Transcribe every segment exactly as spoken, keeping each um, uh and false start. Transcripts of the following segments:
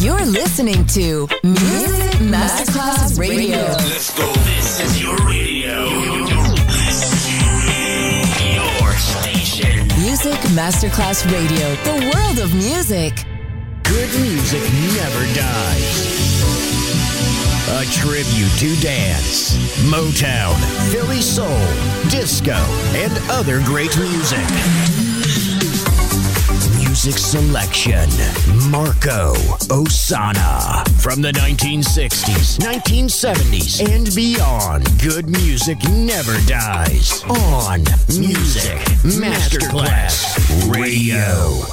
You're listening to Music Masterclass Radio. Let's go. This is your radio. Your station. Music Masterclass Radio. The world of music. Good music never dies. A tribute to dance, Motown, Philly soul, disco, and other great music. Music selection, Marco Ossanna. From the nineteen sixties, nineteen seventies, and beyond, good music never dies. On Music Masterclass Radio.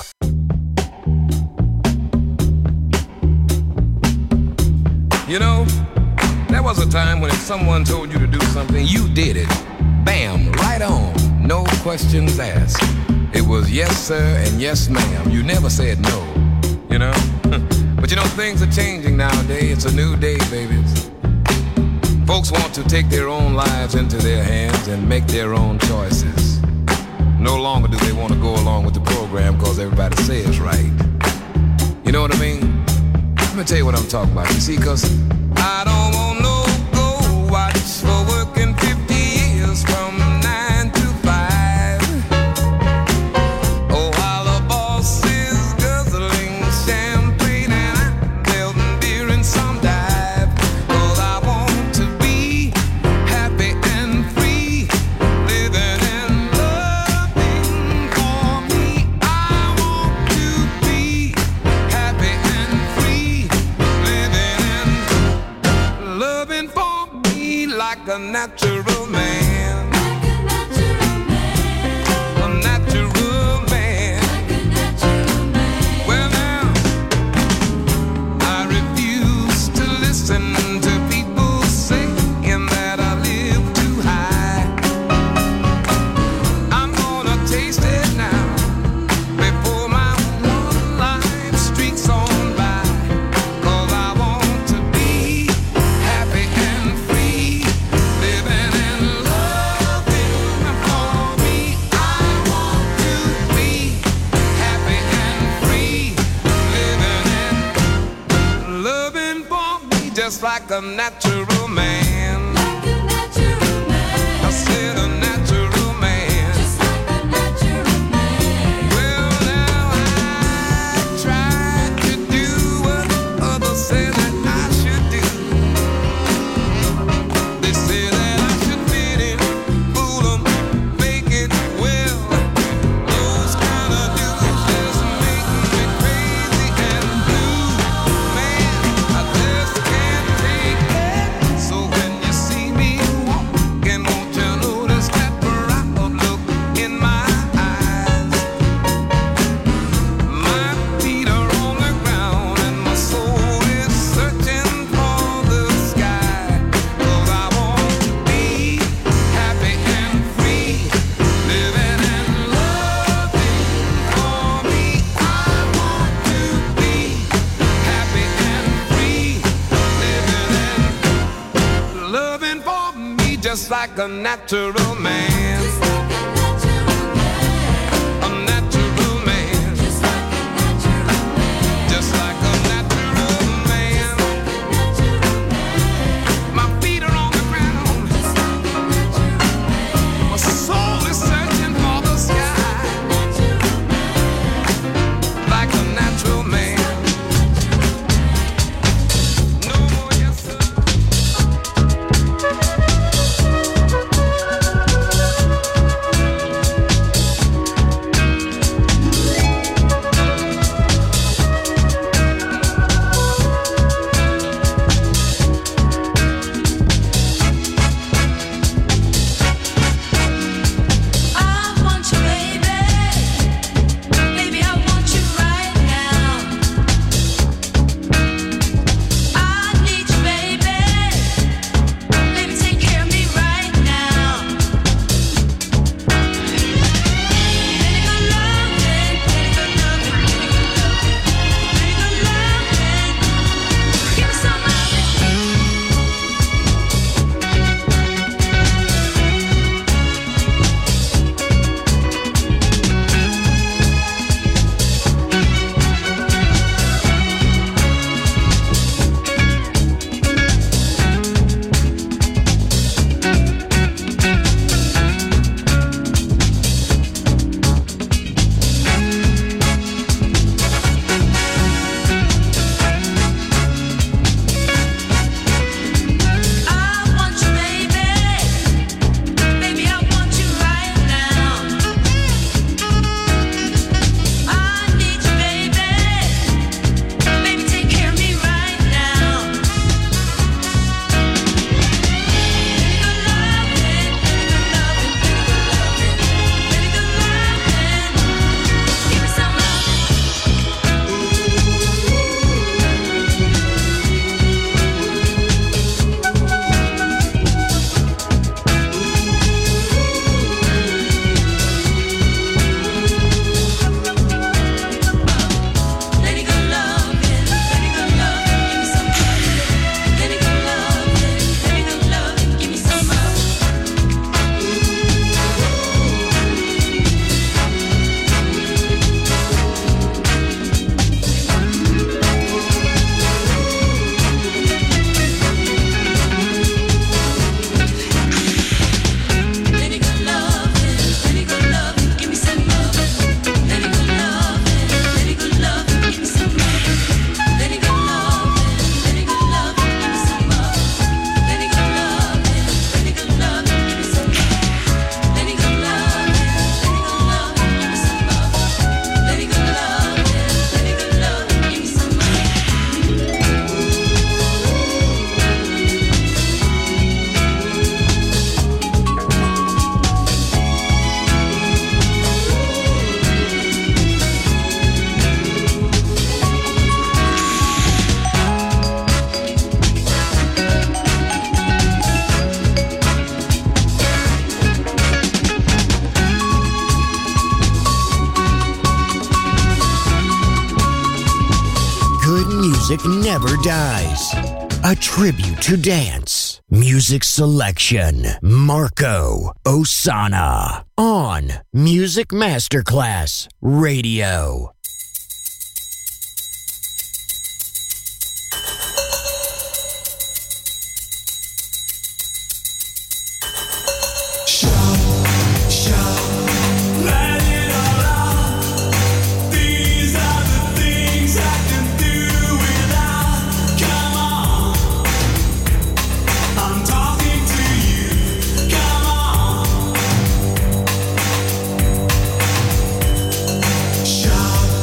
You know, there was a time when if someone told you to do something, you did it. Bam, right on. No questions asked. It was yes, sir, and yes, ma'am. You never said no, you know? But you know, things are changing nowadays. It's a new day, babies. Folks want to take their own lives into their hands and make their own choices. No longer do they want to go along with the program because everybody says right. You know what I mean? Let me tell you what I'm talking about. You see, because I don't want no go watch for working fifty years from nine to five. Oh, while the boss is guzzling champagne and I'm building beer in some dive. Cause I want to be happy and free, living and loving for me. I want to be happy and free, living and loving for me like a natural man. Like a natural man. A natural man. Like a natural man. Well now, I refuse to listen to people saying that I live too high. I'm gonna taste it now before my one life streaks on by. Cause I want to be happy and free, living and loving for me. I want to be happy and free, living and loving for me just like a natural man. Like a natural man. I said a natural man. Just like a natural man. Well now I tried to do what others say that I should do. They say that I should fit in, fool 'em, fake it well. Those kind of dudes just make me crazy and blue. Man, I just can't take it. So when you see me walking, won't you notice that proud look in my eyes? My feet are on the ground and my soul is searching for the sky. Cause I want to be happy and free, living and loving for me. I want to be happy and free, living and loving for me just like a natural man. Just like a natural man. A natural man. Just like a natural man. Just like a natural man. Natural man. My feet are on the ground. Just like a natural man. My soul is searching for the sky. Natural man. Like a natural man. No more yes sir. music never dies. A tribute to dance. Music selection. Marco Ossanna. On Music Masterclass Radio. Shout.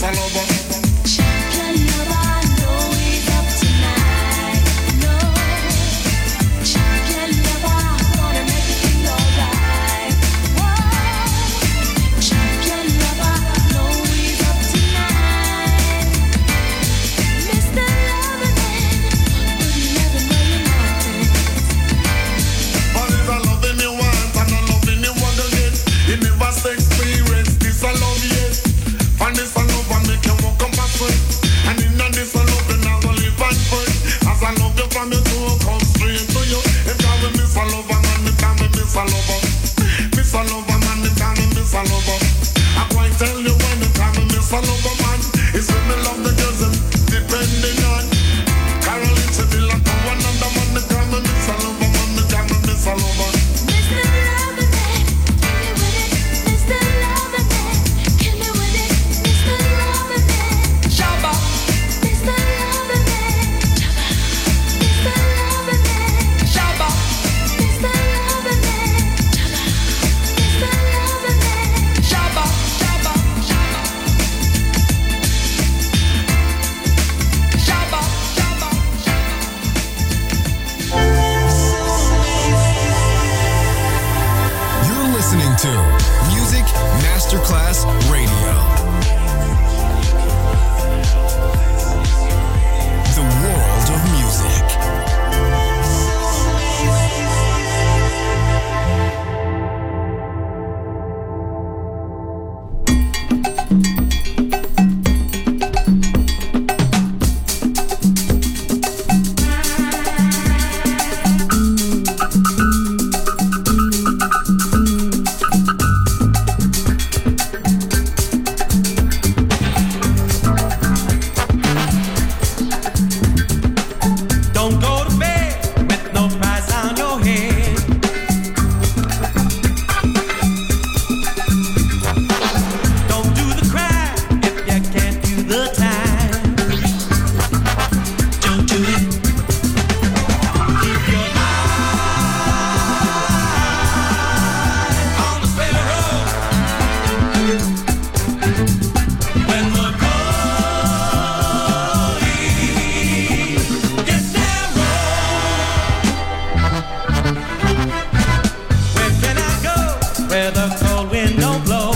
a lover. Champion lover, know he's up tonight. No, champion lover, gonna make you feel alright. Whoa, champion lover, know he's up tonight. Mister Loverman, but you never know your mountains. But it's a loving you want and a loving you want again. You never say experience this a love yet. And this a love and make you walk on back foot. And in a this a love you not gonna live and foot. As I love you from your soul come straight to you. If I will miss a lover man, if I will miss a lover. Miss a lover man, if I will miss a lover. I quite tell you when if I will miss a lover man. It's when me love the girls and depending on Caroline Sevilla to another man. If I will miss a lover man, if I will miss a lover. Mister Loverman, hit me with it. Mister Loverman, hit me with it. Mister Loverman, Shabba, Mister Loverman, Mister Loverman, shabba, Mister Loverman, Mister Loverman. shabba, shabba, shabba, shabba, You're listening to Music Masterclass Radio. The world of music. Don't go to bed with no price on your head. Don't do the crime if you can't do the time. Don't do it. Keep your eye on the sparrow. When the going gets narrow, where can I go where the cold wind don't blow?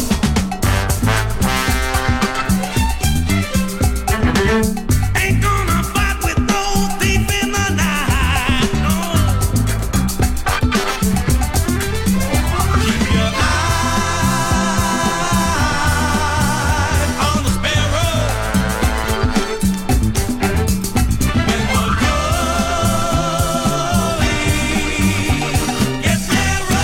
Ain't gonna fight with no thief in the night, no. Keep your eye on the sparrow. When the going gets narrow.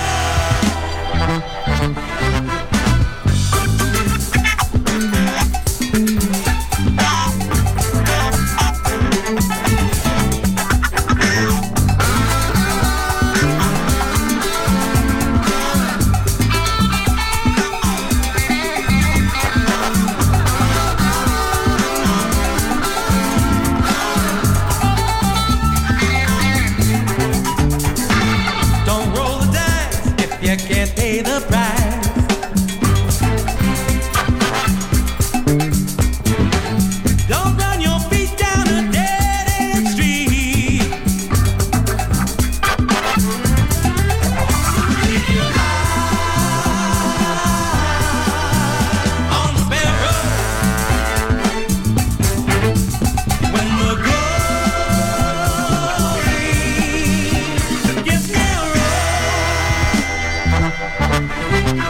Don't roll the dice if you can't pay the price. Don't run your feet down a dead end street. Keep your eye on the sparrow. When the going gets narrow.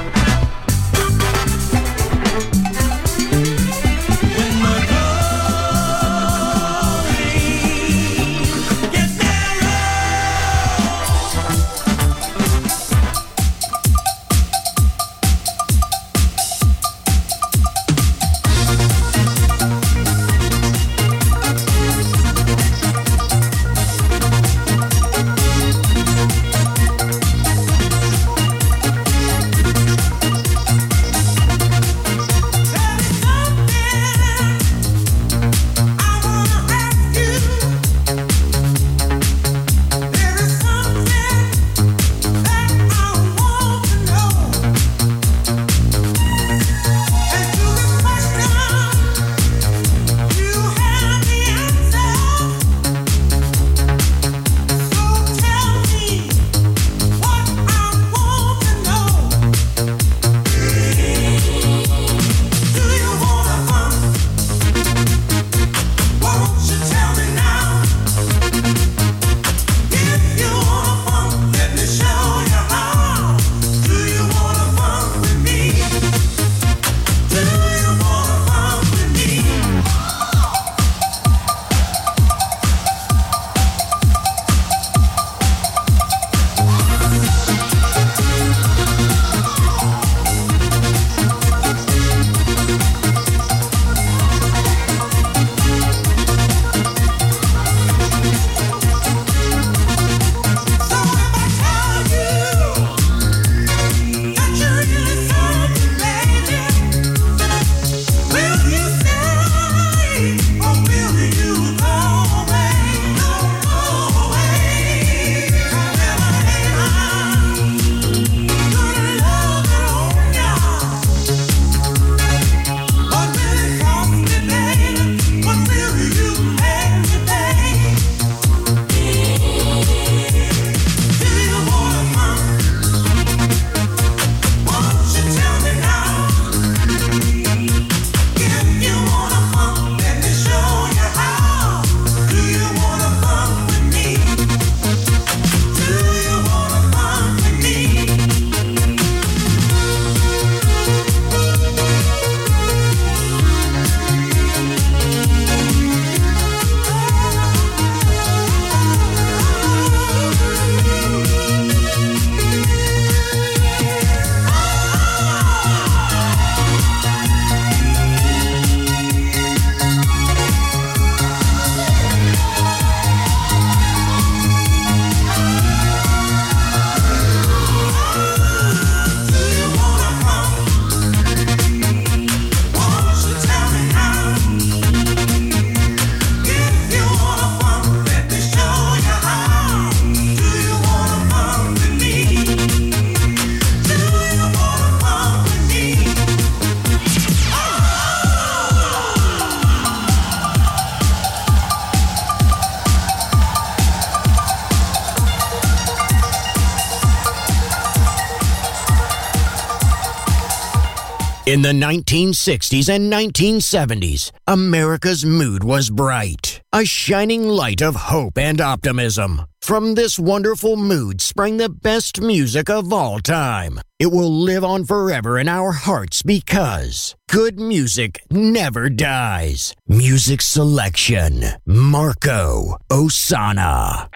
In the nineteen sixties and nineteen seventies, America's mood was bright, a shining light of hope and optimism. From this wonderful mood sprang the best music of all time. It will live on forever in our hearts because good music never dies. Music selection, Marco Ossanna.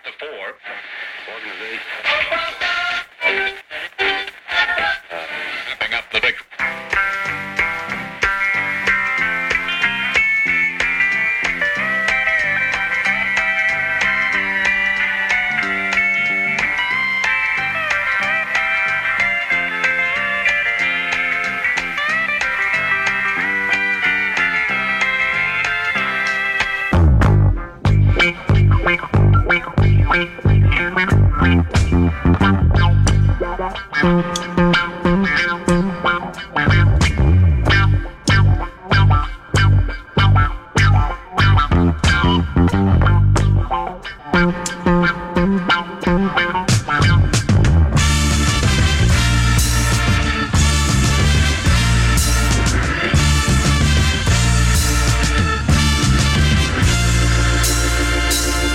Stepping up the big.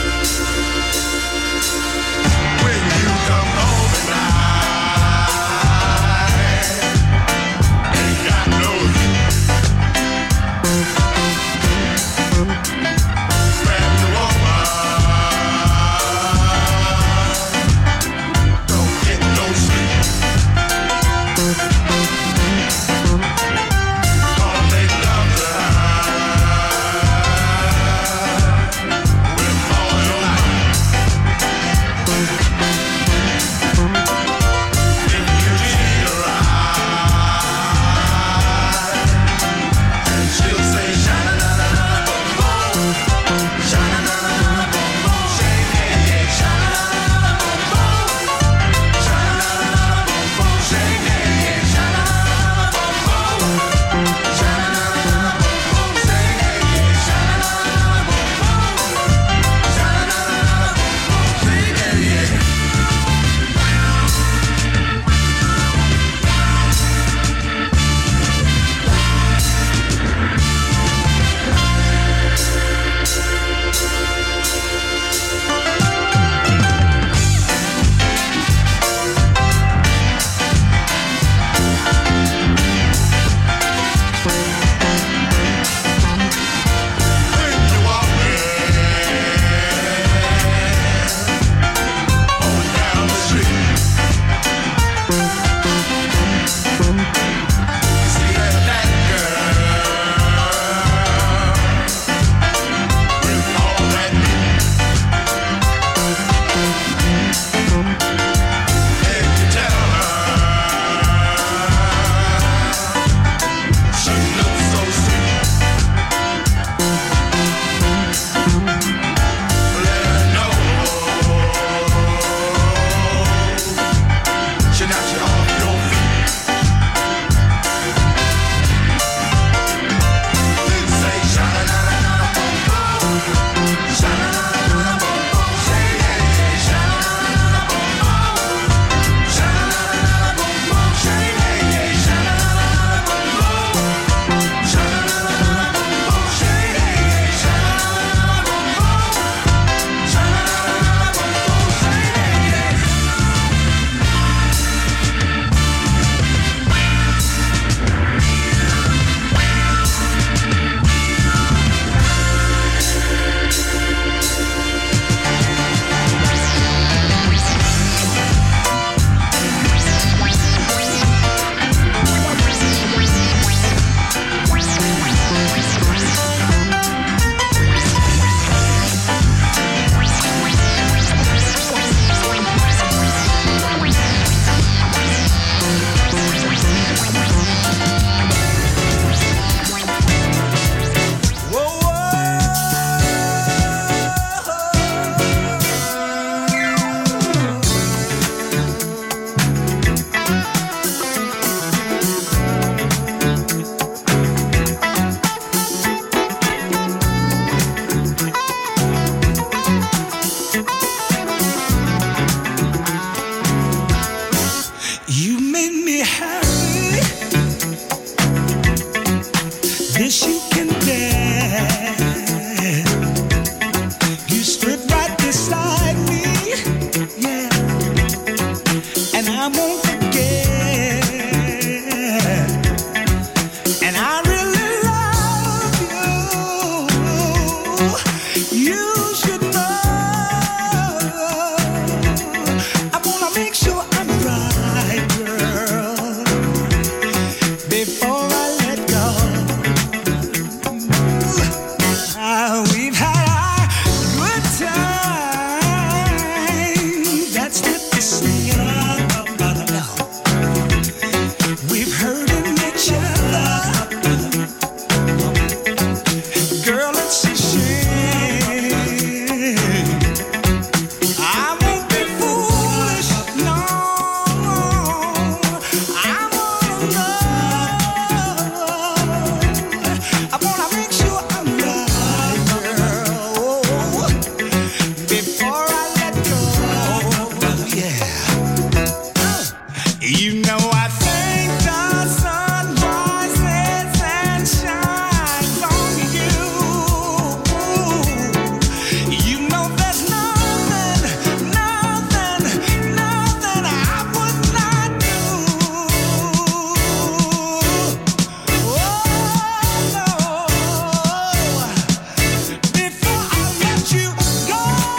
When you come over now. You know I think the sun rises and shines on you. You know there's nothing, nothing, nothing I would not do. Oh no, before I let you go.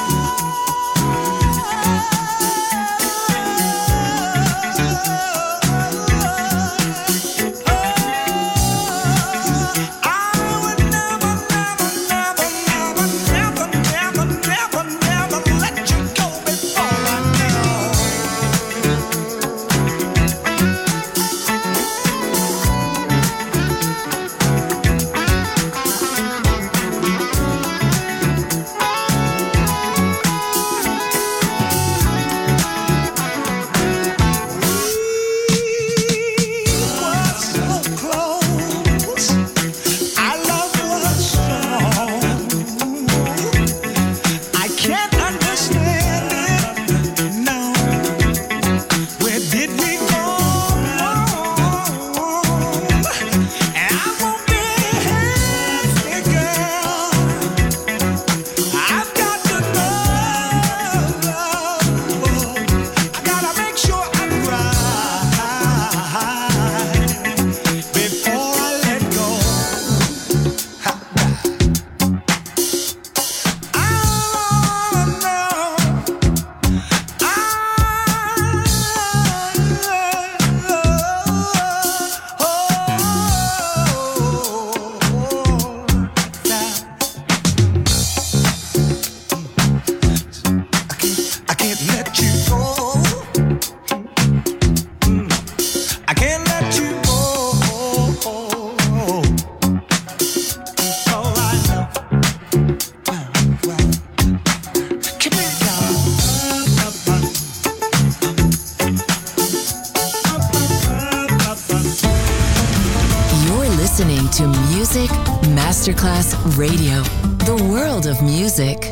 listening to Music Masterclass Radio, the world of music.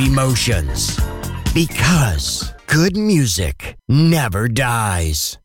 emotions. Because good music never dies.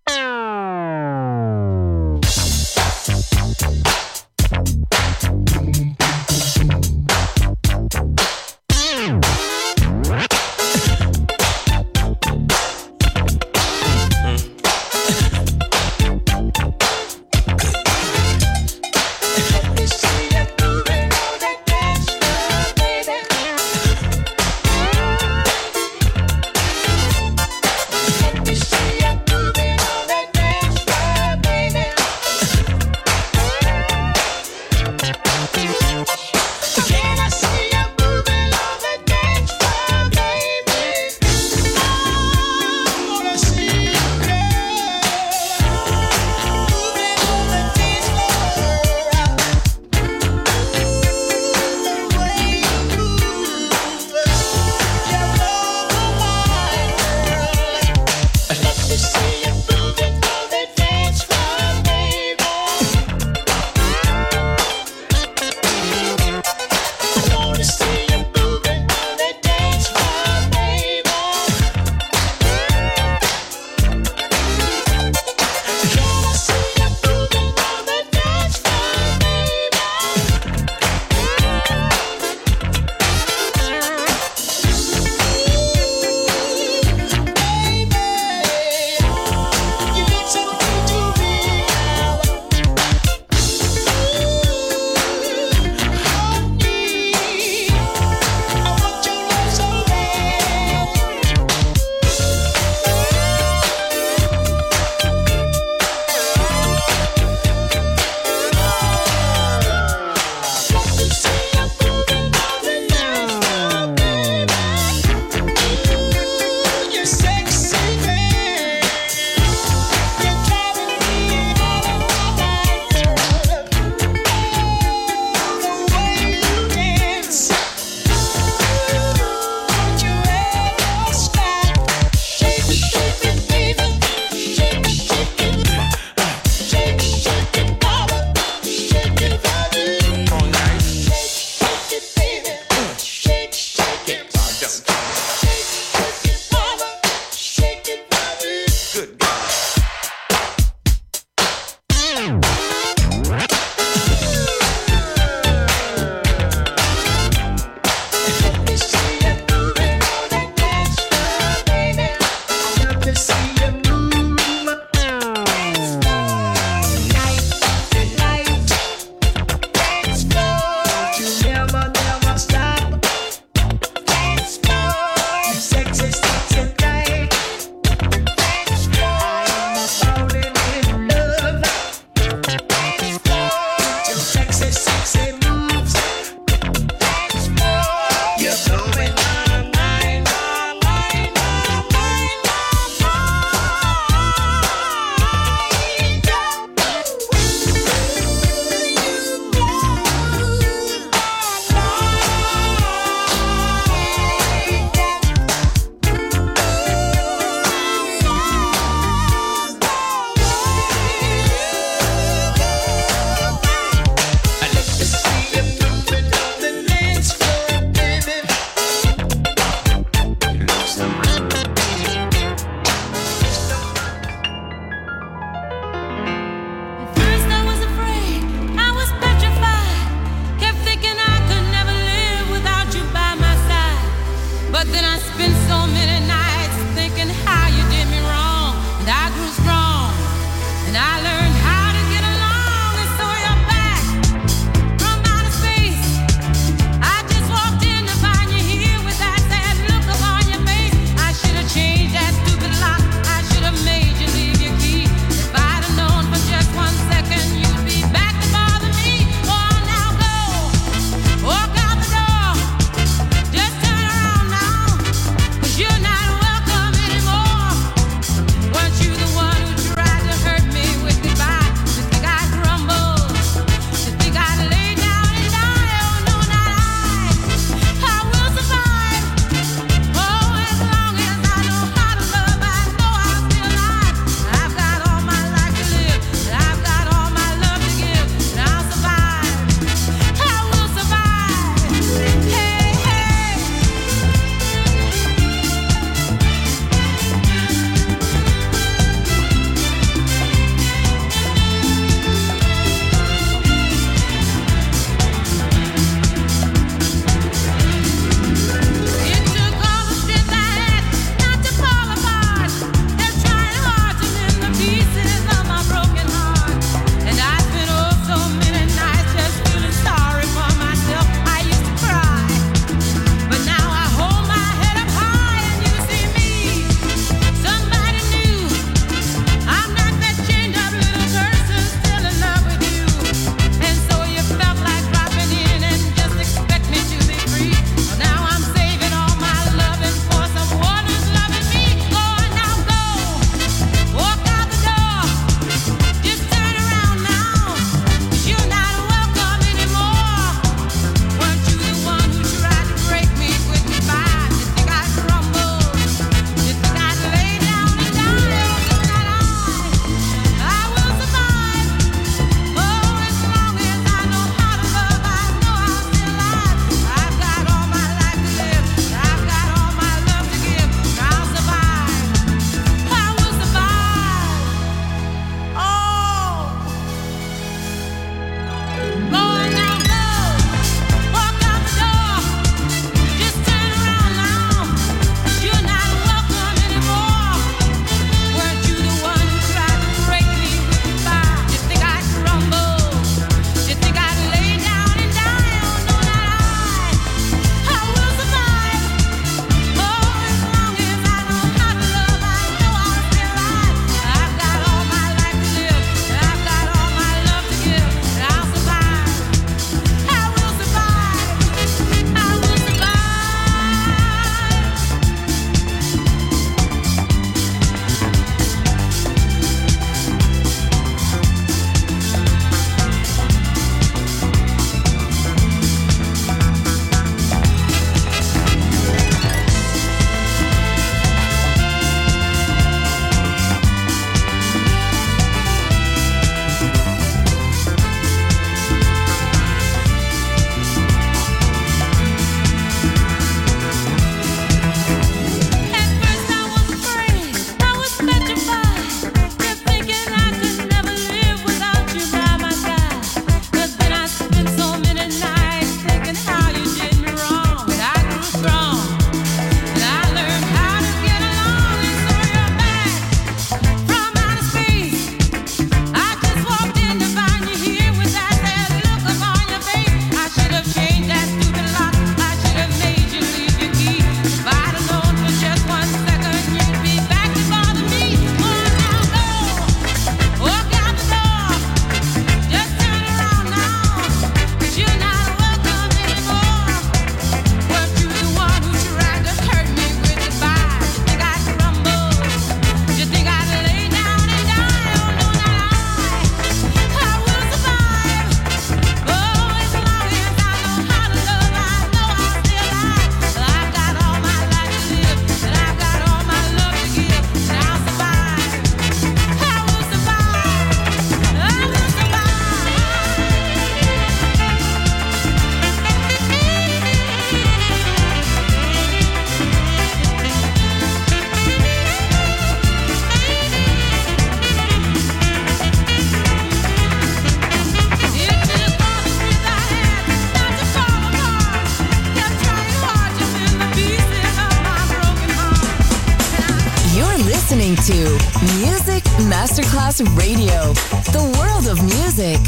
listening to Music Masterclass Radio, the world of music.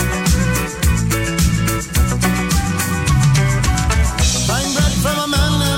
Buying bread from a man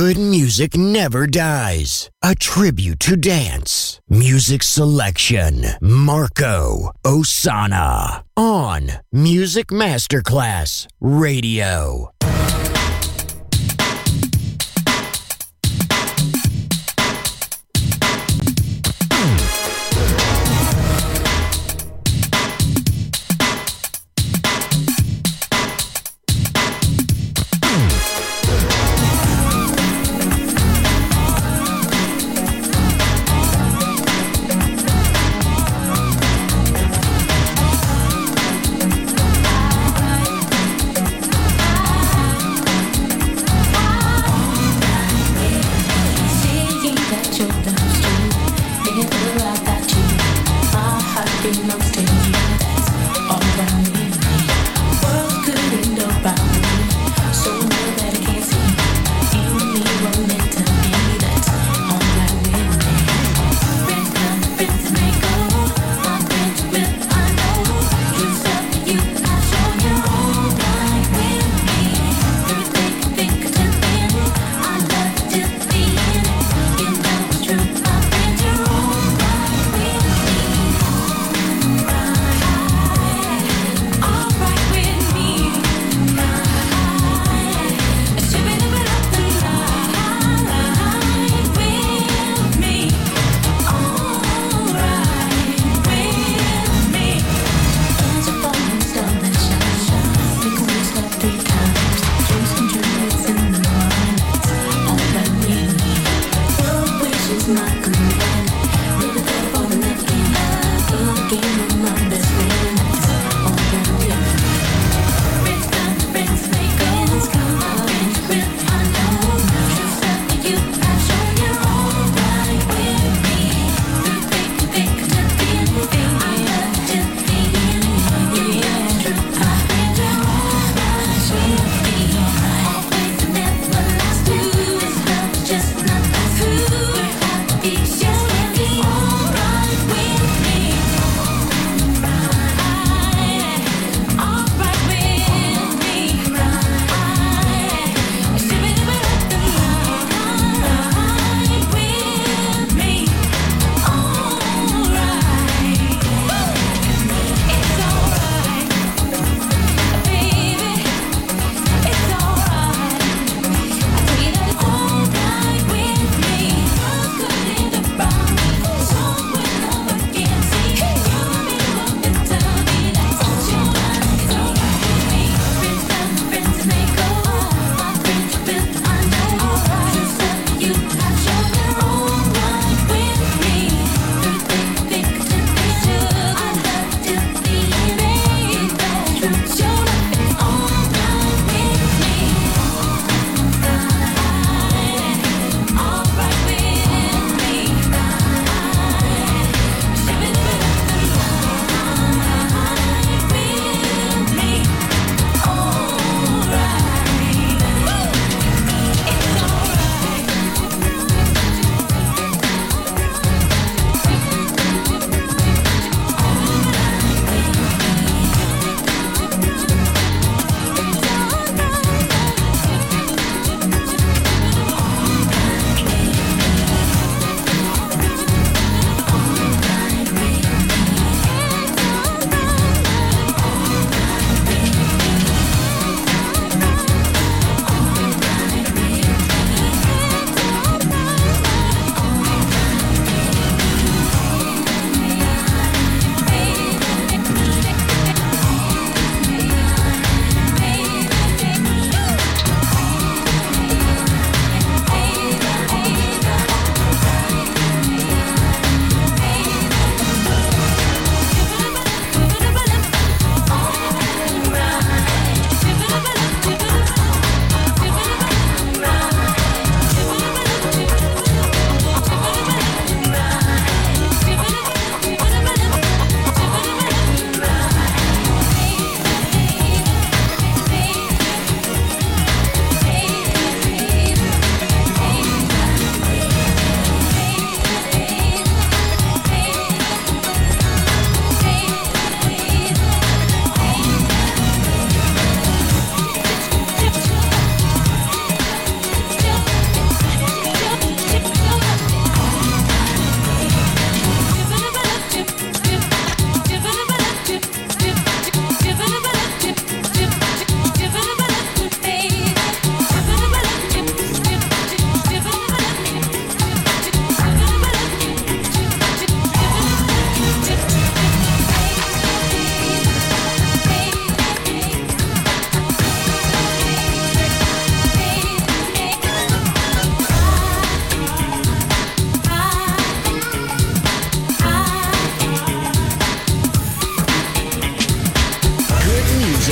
good music never dies. A tribute to dance. Music selection. Marco Ossanna. On Music Masterclass Radio. I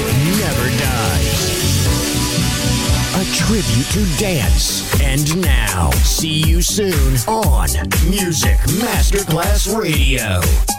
never dies. A tribute to dance. And now, see you soon on Music Masterclass Radio.